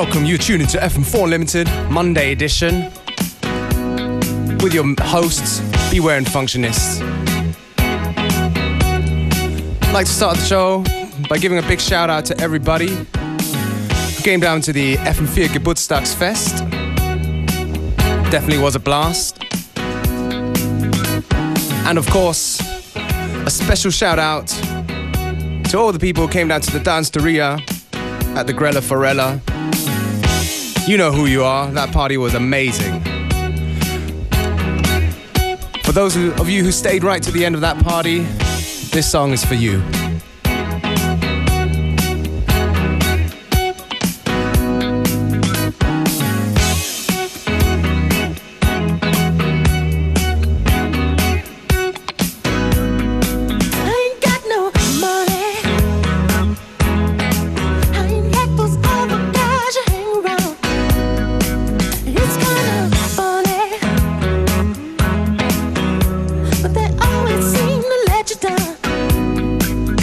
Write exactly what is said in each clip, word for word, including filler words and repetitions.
welcome. You're tuned into F M four Unlimited, Monday edition, with your hosts, Beware and Functionist. I'd like to start the show by giving a big shout out to everybody who came down to the F M four Geburtstagsfest. Definitely was a blast. And of course, a special shout out to all the people who came down to the Danceteria at the Grella Forella. You know who you are. That party was amazing. For those of you who stayed right to the end of that party, this song is for you. But they always seem to let you down.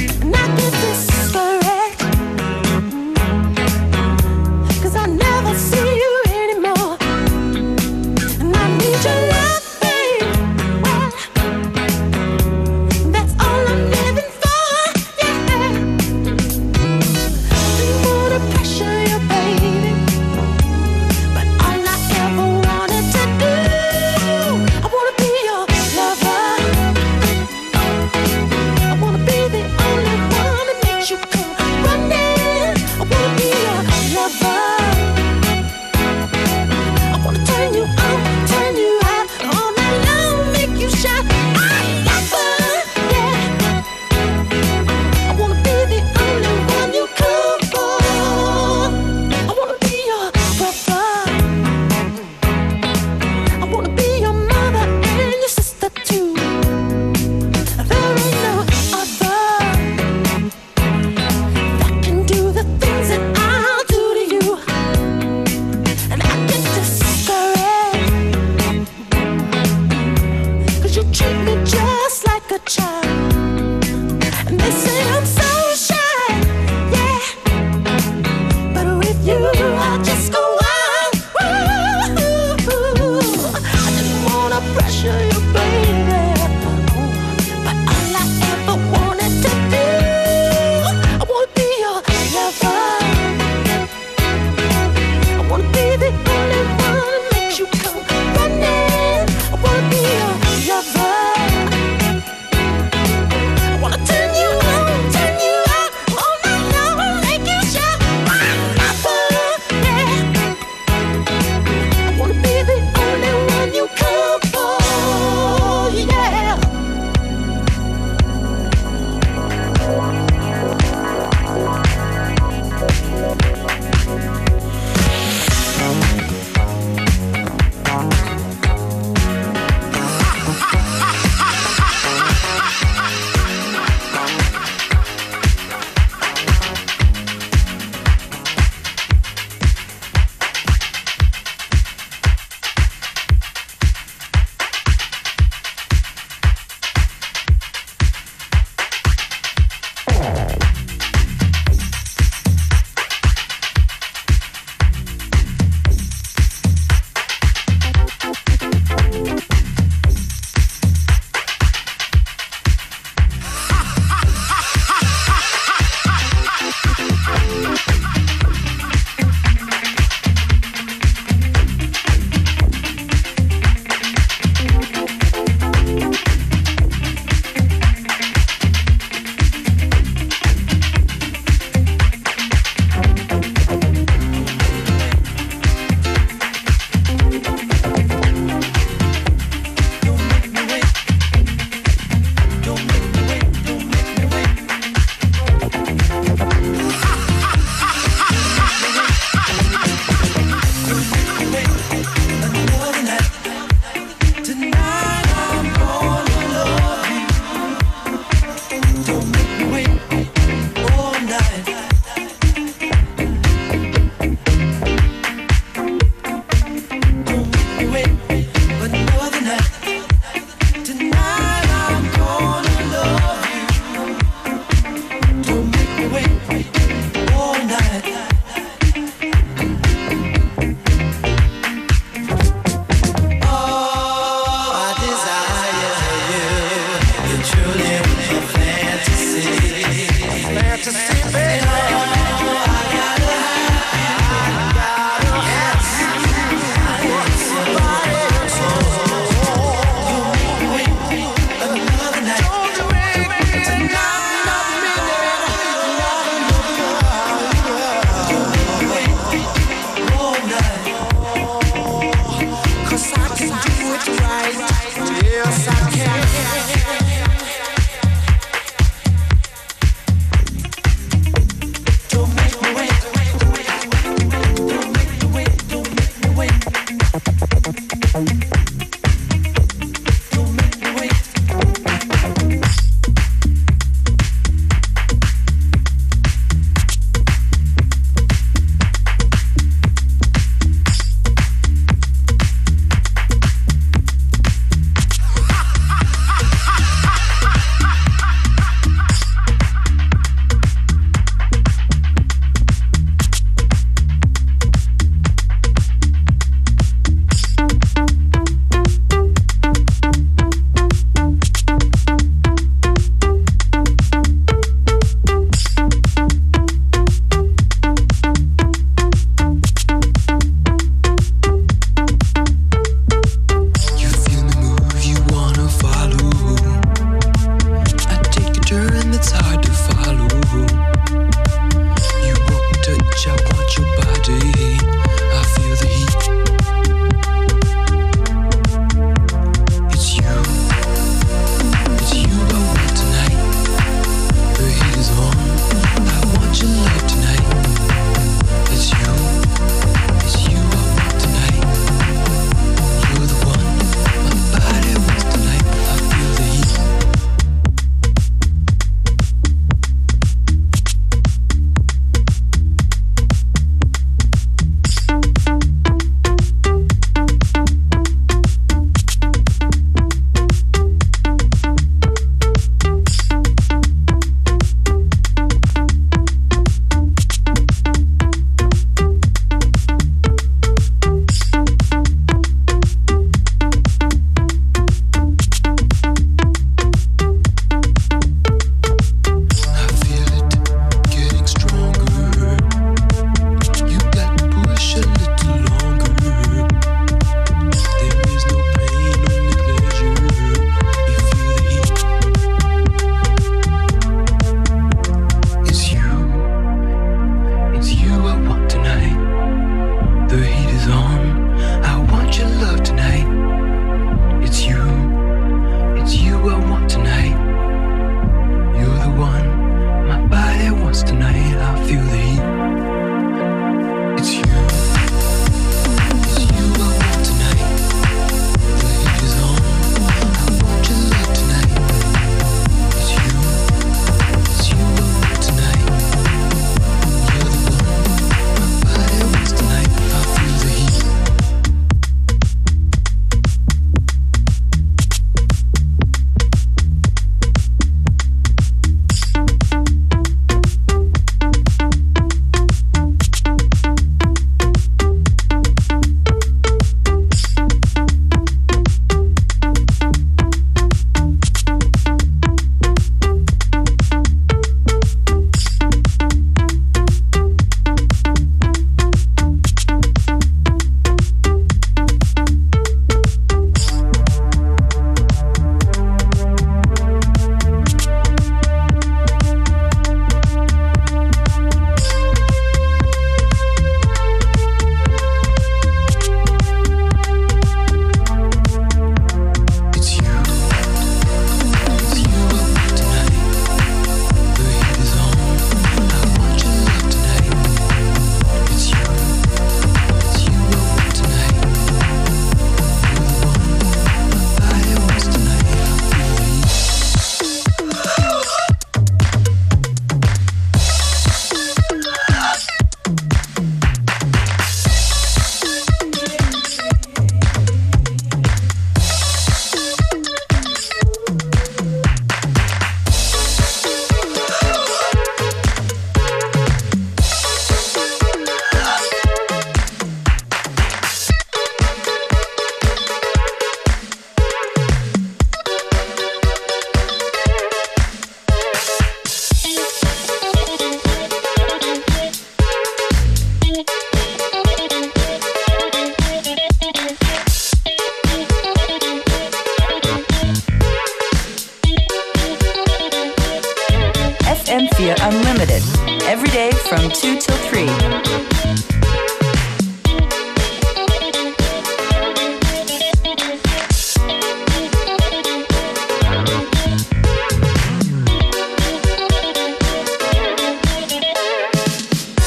M vier Unlimited. Every day from two till three.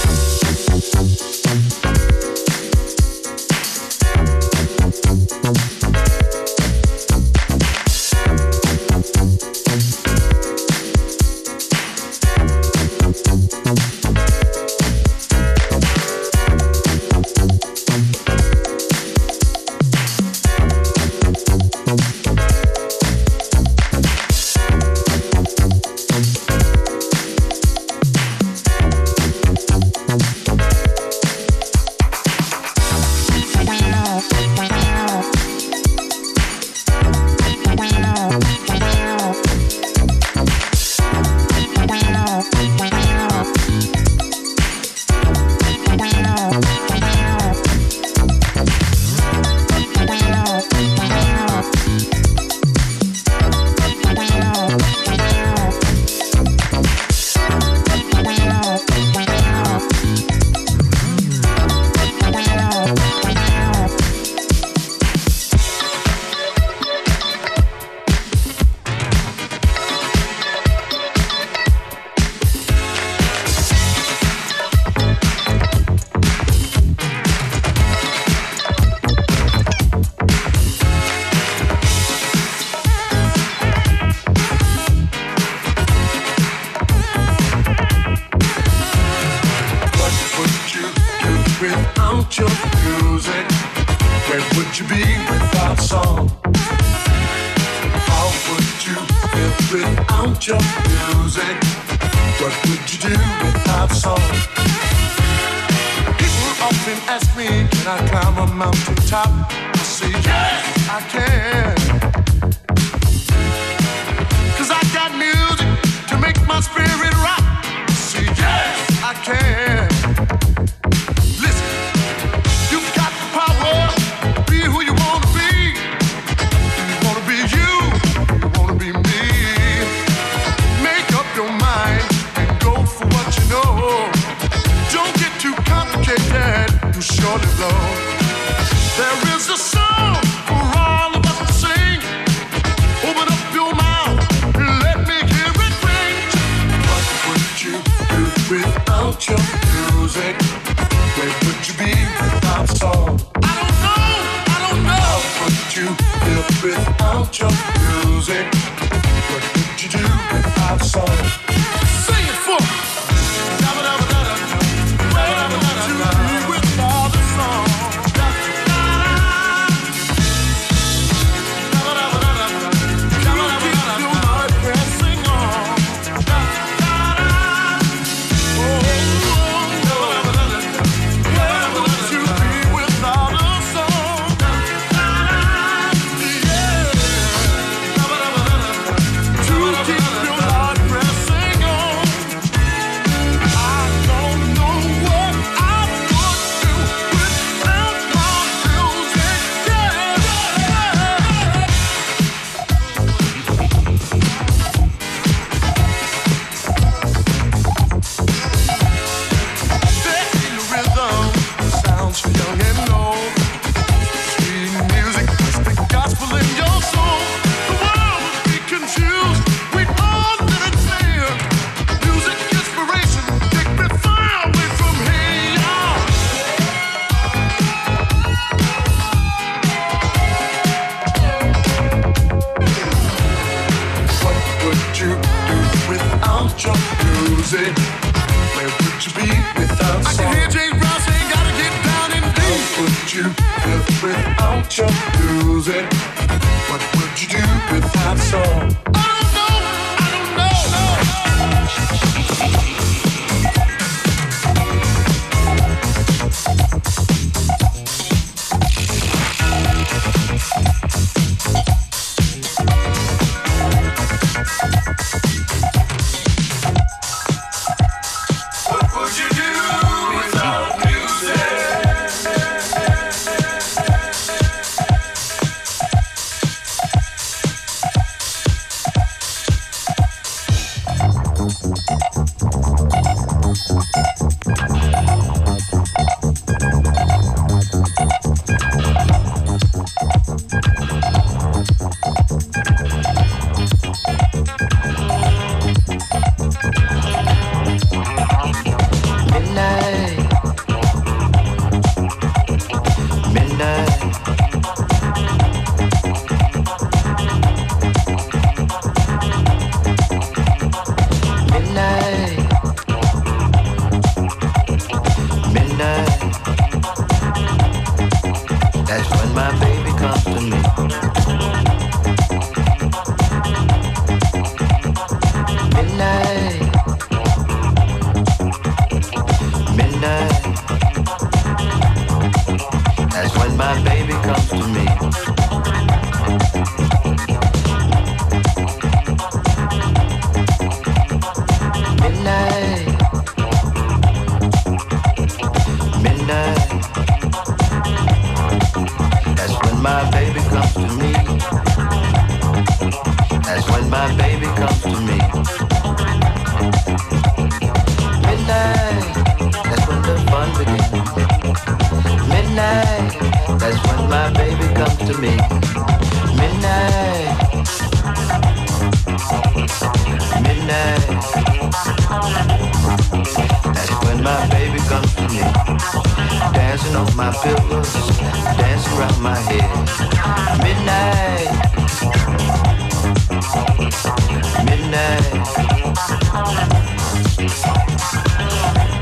Bye. would you be without song? How would you feel without your music? What would you do without song? People often ask me, can I climb a mountain top? I say, yes, I can. Cause I got music to make my spirit rock. I say, yes, I can. Listen, you've got the power. Be who you wanna be. You wanna be you, you wanna be me. Make up your mind and go for what you know. Don't get too complicated, you surely blow. There is a song for all of us to sing. Open up your mouth and let me hear it ring. What would you do without your music? Where would you be without song? I don't know, I don't know. How would you feel without your music? What would you do without song? Sing it for me.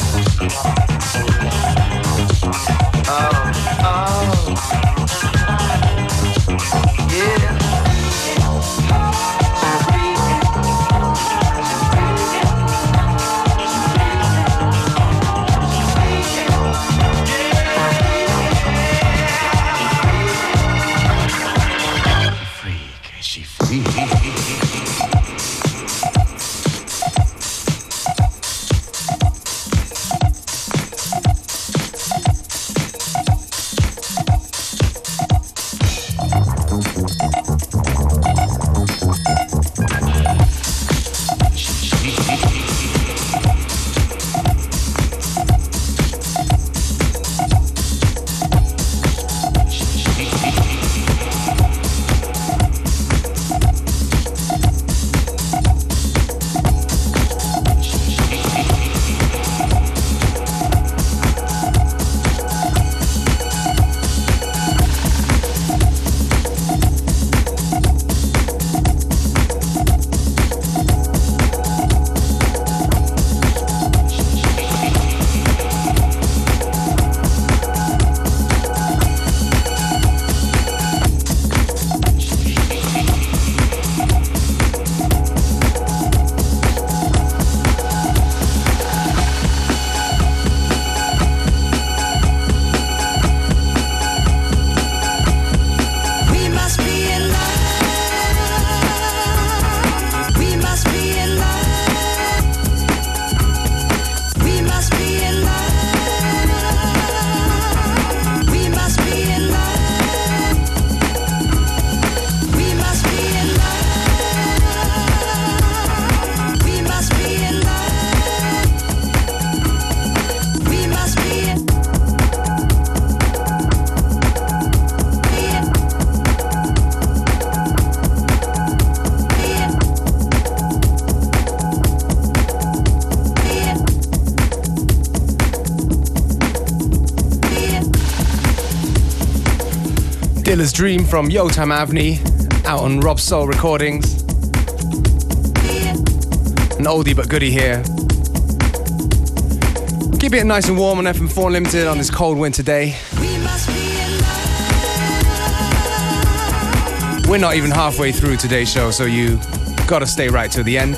Oh, oh. Dream from Yotam Avni, out on Rob Soul Recordings. An oldie but goodie here. Keep it nice and warm on F M four Unlimited on this cold winter day. We're not even halfway through today's show, so you gotta stay right till the end.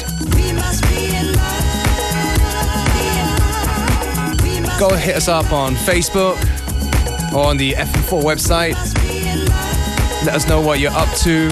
Go hit us up on Facebook or on the F M four website. Let us know what you're up to.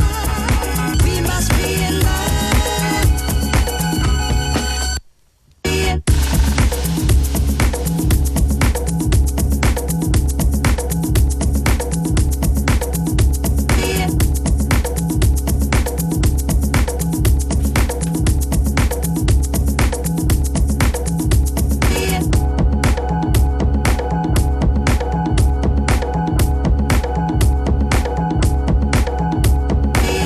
Yeah.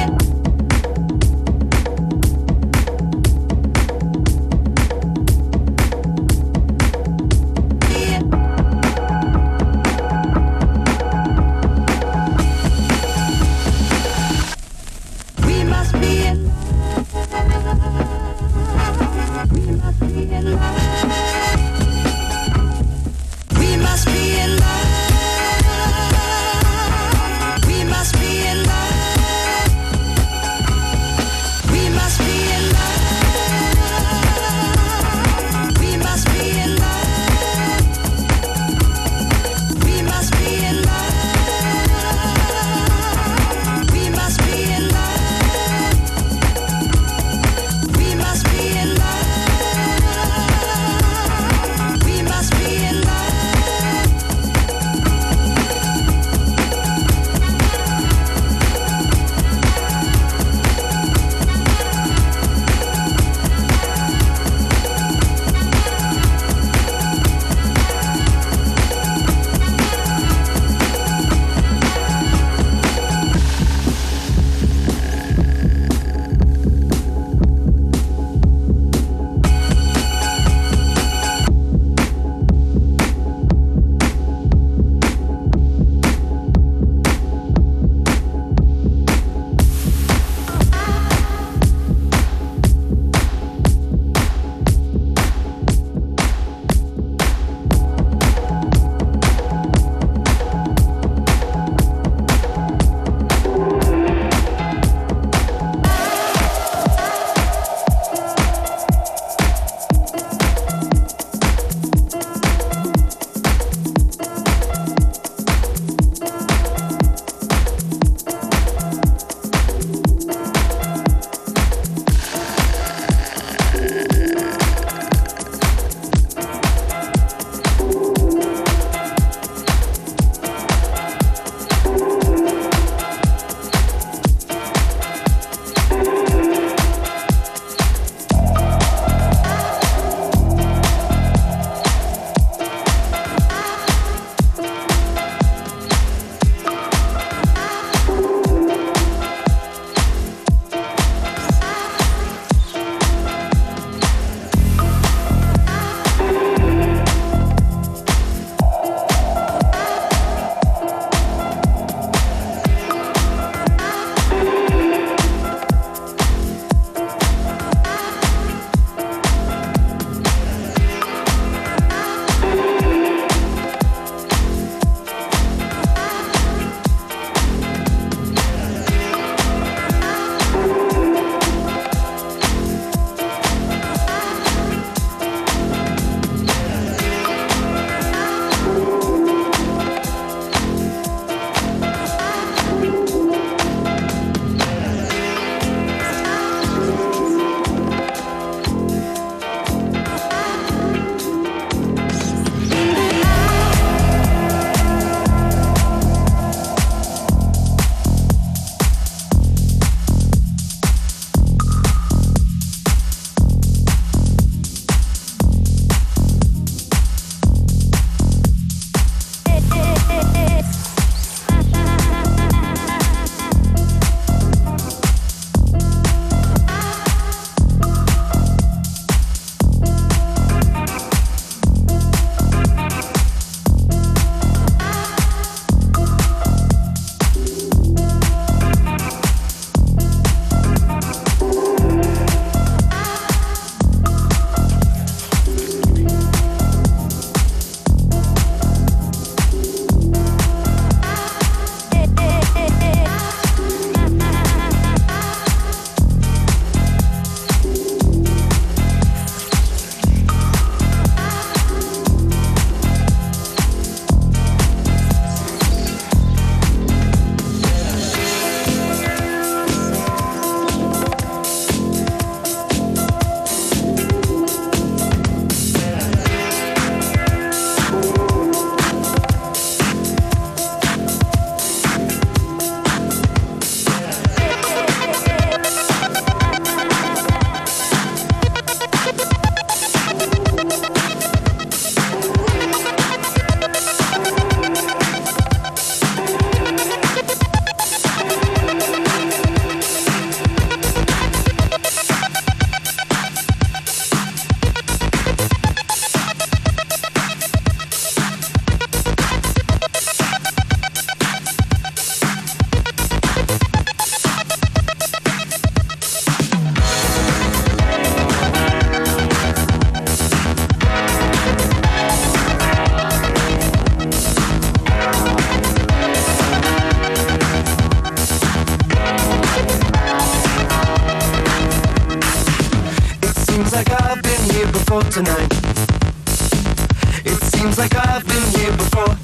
tonight. It seems like I've been here before.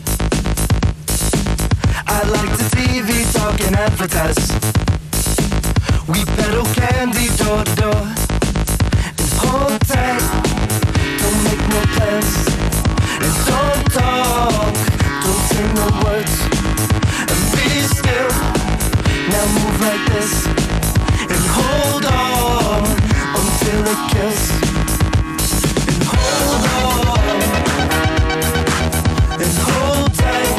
I like the T V talk and advertise. We peddle candy door to door. And hold tight, don't make no plans. And don't talk, don't say no words. And be still, now move like this. And hold on until it kills. And hold on, and hold tight.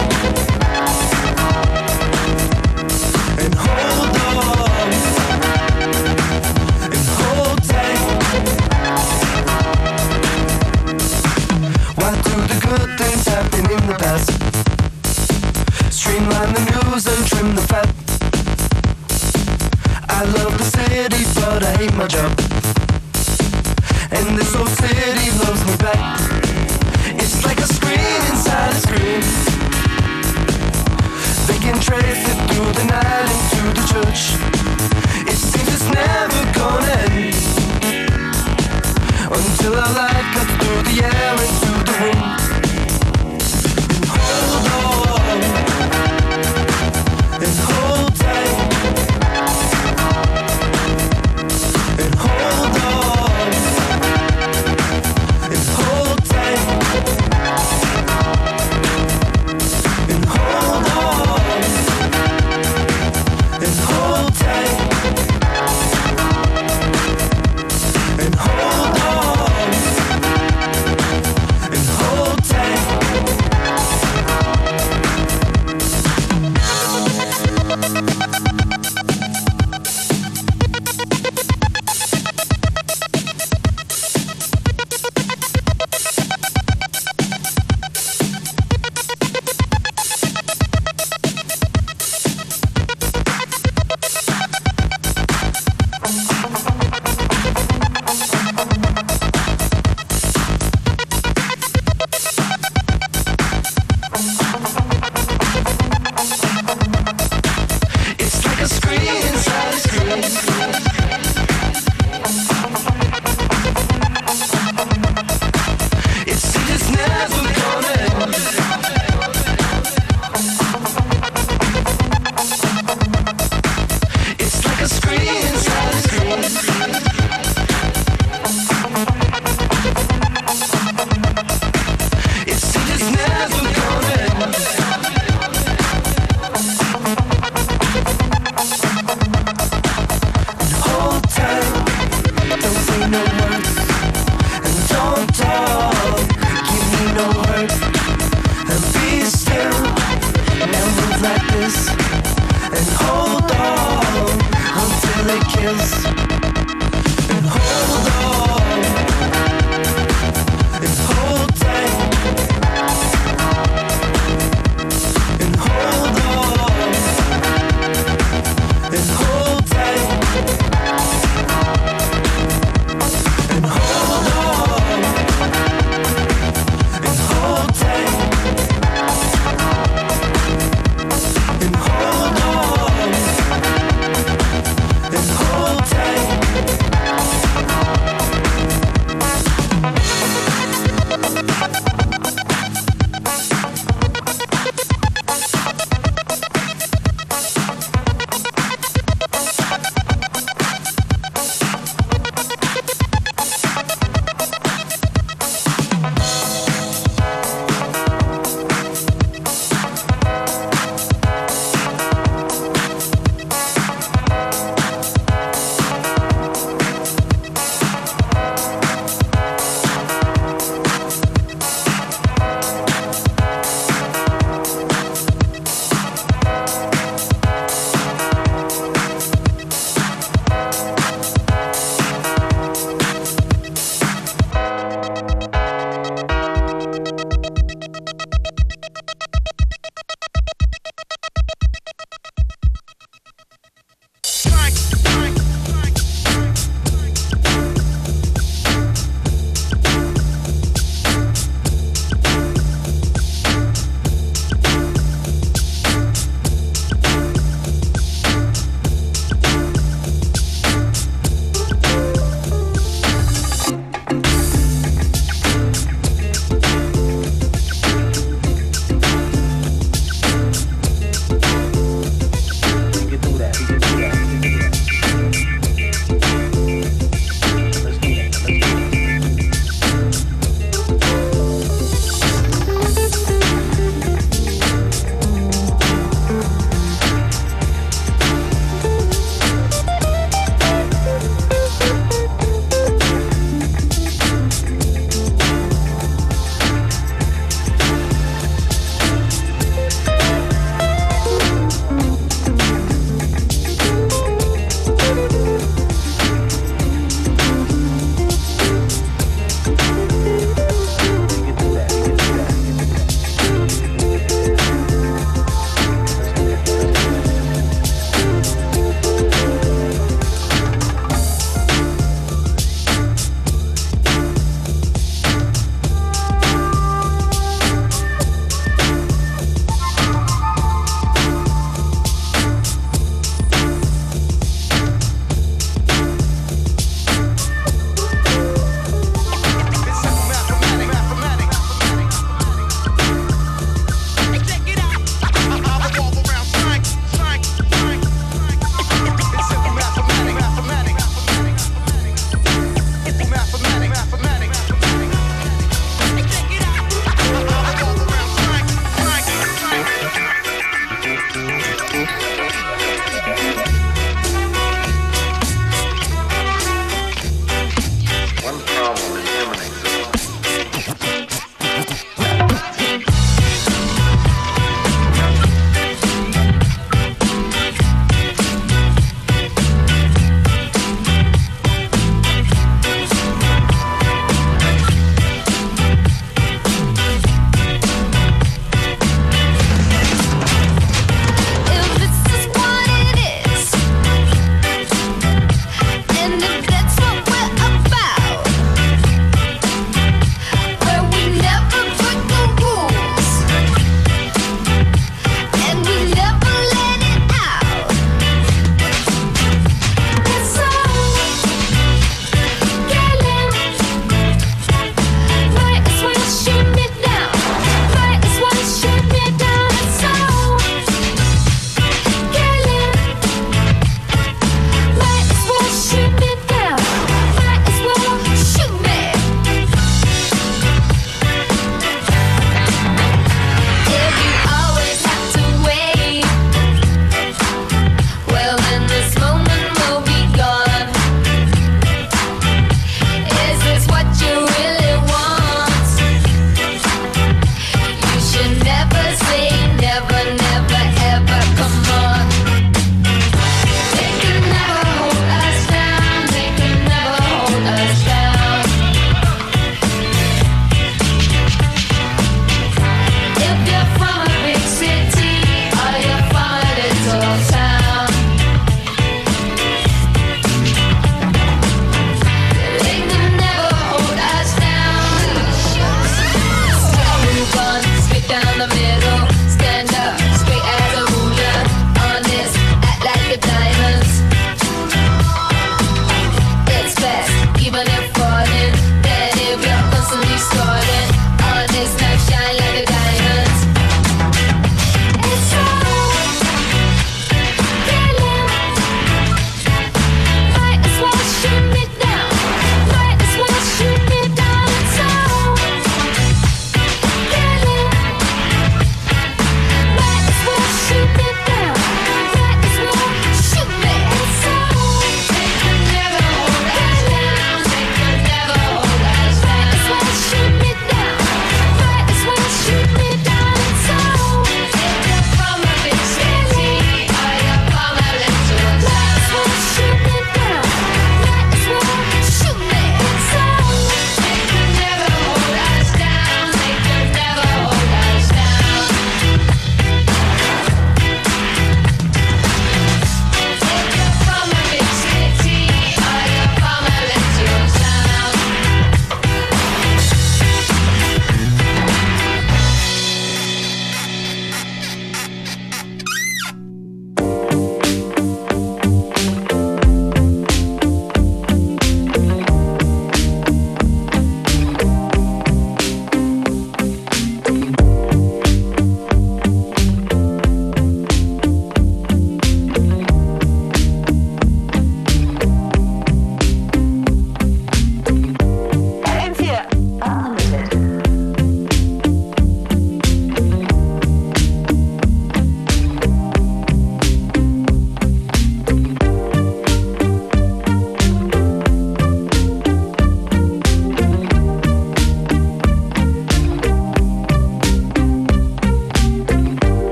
And hold on, and hold tight. Why do the good things happen in the past? Streamline the news and trim the fat. I love the city, but I hate my job. And this old city loves me back. It's like a screen inside a screen. They can trace it through the night into the church. It seems it's never gonna end until our light cuts through the air into the wind. And hold on, and hold tight. And hold on, and hold tight. And hold on, and hold tight. And hold on, and hold tight. It's like a screen inside a screen. It seems it's never gonna end. It's like a screen inside a screen. It seems it's never gonna end. Hold tight, don't say no words. And don't talk, give me no hurt. And be still, now move like this. And hold on until it kills. And hold on, and hold tight. And hold on, and hold tight. And hold on, and hold tight. And hold on, and hold tight.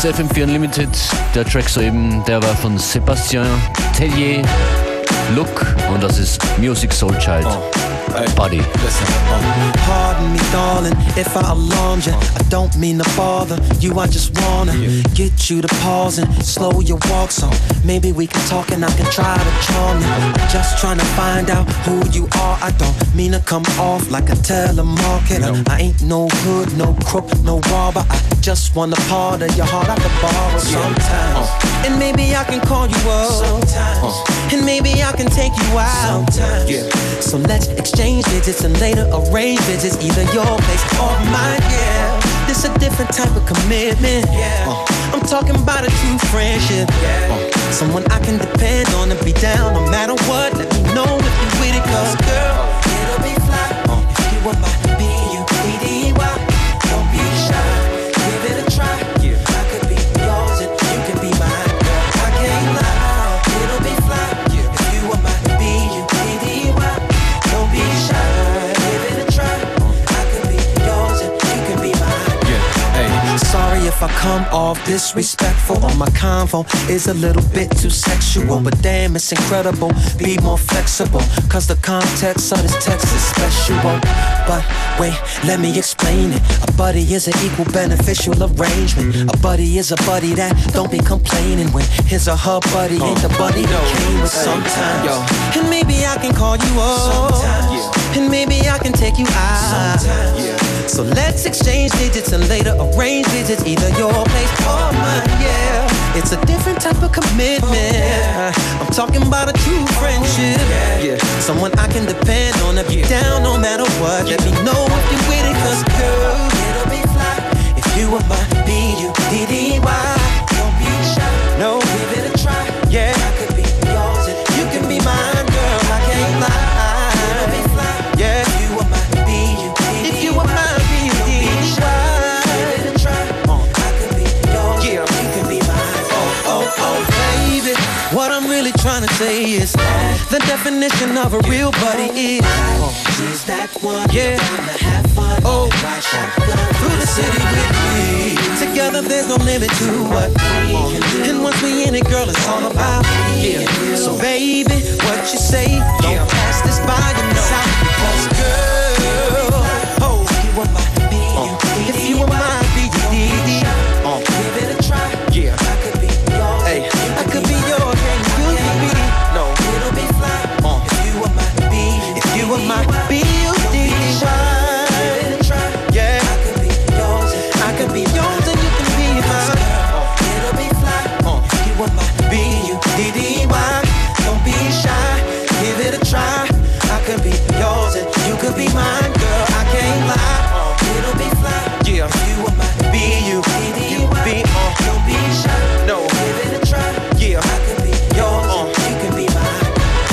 ist F M vier Unlimited. Der Track soeben, der war von Sébastien Tellier, Look, und das ist Musiq Soulchild. Oh. Hey, buddy. Listen, um, pardon me, darling, if I alarmed you. I don't mean to bother you. I just wanna yeah. get you to pause and slow your walk, so maybe we can talk and I can try to charm you. I'm just trying to find out who you are. I don't mean to come off like a telemarketer. No. I ain't no hood, no crook, no robber. I just want a part of your heart I could borrow sometimes. Uh. And maybe I can call you up sometimes. Uh. And maybe I can take you out sometimes. Yeah. So let's exchange digits and later arrange visits, either your place or mine, yeah. This a different type of commitment, yeah. uh, I'm talking about a true friendship, yeah. uh, Someone I can depend on and be down no matter what. Let me know if you with it, cause girl, it'll be fly uh, if you were my B U E D Y. Don't be shy, give it a try, yeah. I could be yours and you can be mine, girl, I can't lie. It'll be fly, yeah. If you were my B U E D Y. Don't be shy, give it a try. I could be yours and you can be mine. Yeah, hey. Sorry if I come off disrespectful or my convo is a little bit too sexual, but damn, it's incredible. Be more flexible, cause the context of this text is special. But wait, let me explain it. A buddy is an equal beneficial arrangement. A buddy is a buddy that don't be complaining when his or her buddy ain't the buddy that came with sometimes. Yo. And maybe I can call you up sometimes, yeah. And maybe I can take you out sometimes, yeah. So let's exchange digits and later arrange visits, either your place or mine, yeah. It's a different type of commitment, yeah. I'm talking about a true friendship, yeah. Yeah. Someone I can depend on to be yeah. down no matter what, yeah. Let me know if you're with it, cause girl, it'll be fly if you were my B U D D Y. Don't be shy, no, give it a try, yeah. I could be yours and you can be mine, girl, I can't lie. It'll be fly, yeah. If you were my B U D D Y. If you were my B U D D Y, give it a try, uh. I could be yours, yeah. You can be mine, oh, oh, oh, baby. What I'm really trying to say is the definition of a real buddy is she's that one, yeah. Have fun, oh, through the city with me. Together there's no limit to what we can do. And once we in it, girl, it's all about me. Yeah. So baby, what you say? Don't yeah. pass this by your side. Cause girl, oh, if you were my B U D D, if you were my B U D D, uh, give it a try. Yeah, I could be yours. Hey, I could be yours, and you could be. No, it'll be fly. Uh, if you were my B, if you were my B U D D, give it a try. Yeah, I could be yours. I could be yours, and you can be mine. Uh, it'll be fly. Uh, if you were my B U D D Y. Don't be shy, give it a try. I could be yours, and you could be mine, girl. I can't lie. Uh, it'll be fly. Yeah, if you were my B U D D Y. Be on. Don't be shy. No, give it a try. Yeah, I could be yours, uh, and you can be mine.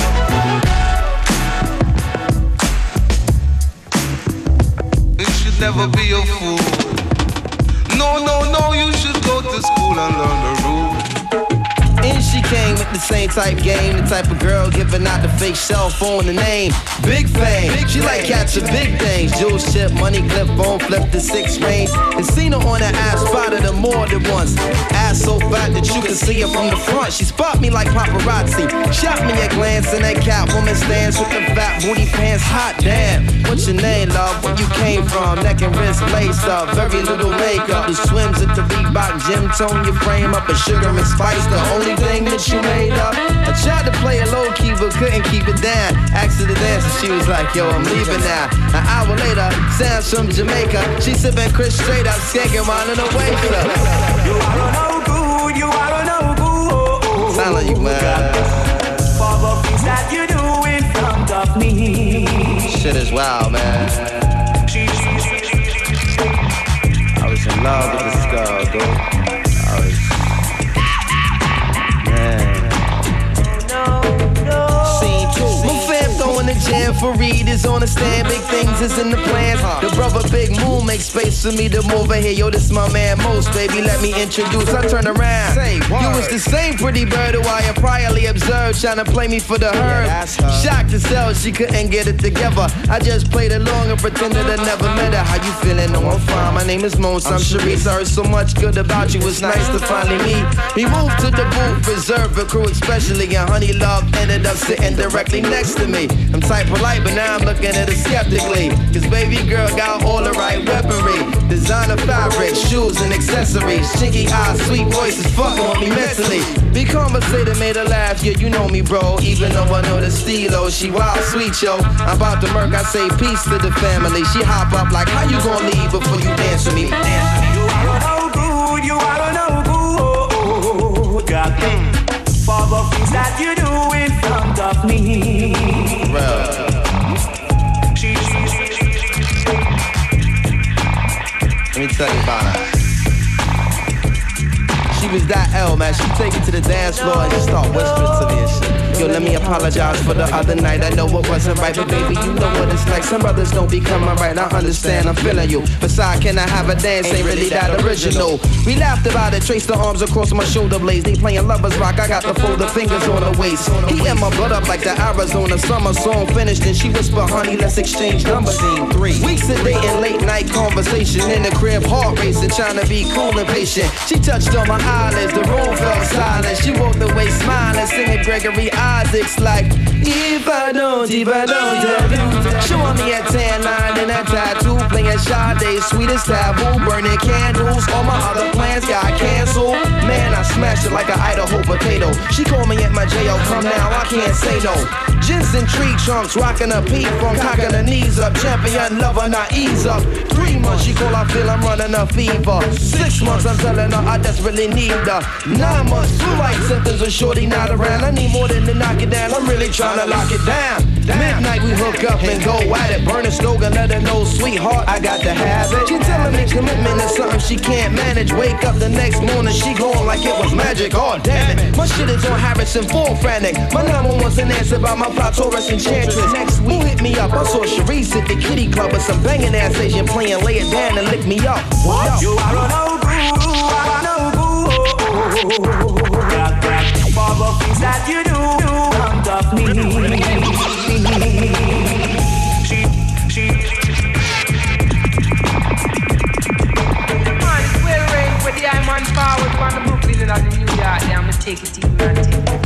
You should never be a fool. No, no, no, you should go to school and learn the rules. And she came with the same type game, the type of girl giving out the fake cell phone, the name Big Fame. She like catching big things, jewel ship, money clip, phone flip the six range. And seen her on the ass, spotted her more than once. Ass so fat that you can see her from the front. She spot me like paparazzi, shot me a glance, and that Catwoman stance with the fat booty pants. Hot damn, what's your name, love? Where you came from? Neck and wrist laced up, very little makeup. The swims at the Reebok gym, tone your frame up, and sugar and spice. The only thing that you made up. I tried to play it low key but couldn't keep it down. Asked her to dance and she was like, yo, I'm leaving now. An hour later, sounds from Jamaica. She sipping Chris straight up, skanking while in the waist up. You are no good, you are no good. Sound like you man. For the things that you do in front of me. Shit is wild, man. I was in love with this girl, dude. I was. Scene two. My fam throwing the jam Fareed is on the stand, big things is in the plans. The brother Big Moon makes space for me to move over here. Yo, this my man Most, baby, let me introduce. I turn around. Say, you was the same pretty bird who I had priorly observed, trying to play me for the herd. Yeah, shocked to sell, she couldn't get it together. I just played along and pretended I never met her. How you feeling? No, I'm fine. My name is Most. I'm Sharice. I heard so much good about you. It's nice to finally meet. We moved to the booth, reserved for crew especially, and Honey Love ended up sitting directly next to me. I'm type polite, but now I'm looking at her skeptically. Cause baby girl got all the right weaponry. Designer fabric, shoes and accessories. Chinky eyes, sweet voices, fucking with me mentally. We conversated, made her laugh, yeah, you know me, bro. Even though I know the stilo, she wild sweet, yo. I'm about to murk, I say peace to the family. She hop up like, how you gonna leave before you dance with me? Dance with me. You are no good, you are no good. God, for the things that you do in front of me. Bro. Let me tell you about her. She was that L, man. She take it to the dance floor and just start whispering to me and shit. Yo, let me apologize for the other night. I know it wasn't right, but baby, you know what it's like. Some brothers don't be coming right. I understand, I'm feeling you. Besides, can I have a dance? Ain't really that original. We laughed about it, traced the arms across my shoulder blades. They playing lovers rock, I got the fold of fingers on her waist. He and my blood up like the Arizona summer song finished. And she whispered, honey, let's exchange numbers. Scene three. Weeks of dating, late night conversation in the crib, heart racing, trying to be cool and patient. She touched on my eyelids, the room felt silent. She walked away smiling, singing Gregory Isaacs like, if I don't, if I don't tell you. Showing me a tan line and a tattoo, playing Sade, sweetest taboo, burning candles. All my other plans got canceled. Man, I smashed it like an Idaho potato. She called me at my J O, come now, I can't say no. Jensen tree trunks, rocking a P from cocking her knees up. Champion lover, not ease up. Three months, she call, I feel I'm running a fever. Six months, I'm telling her I desperately need her. Nine months, two light symptoms of shorty not around. I need more than to knock it down, I'm really trying to lock it down. Midnight, we hook up and go at it. Burn a slogan, let her know, sweetheart, I got to have it. She telling me commitment is something she can't manage. Wake up the next morning, she going like it was magic. Oh, damn it. My shit is on Harrison, full frantic. My number one's an answer about my plot, Taurus Enchantress. Next week, hit me up. I saw Sharice at the kitty club with some banging ass Asian playing. Lay it down and lick me up. What? You are no good, you are no good. God, God, for the things that you do in front of me. She, she, man, it's well rain for the Iron Forward from the Brooklyn and the New York. Yeah, I'ma take it easy and take it.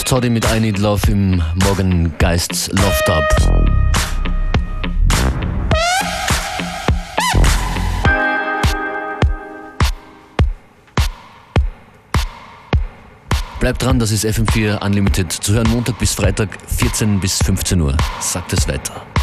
Toddy mit I Need Love im Morgengeists Love Dub. Bleibt dran, das ist F M vier Unlimited. Zu hören Montag bis Freitag, vierzehn bis fünfzehn Uhr. Sagt es weiter.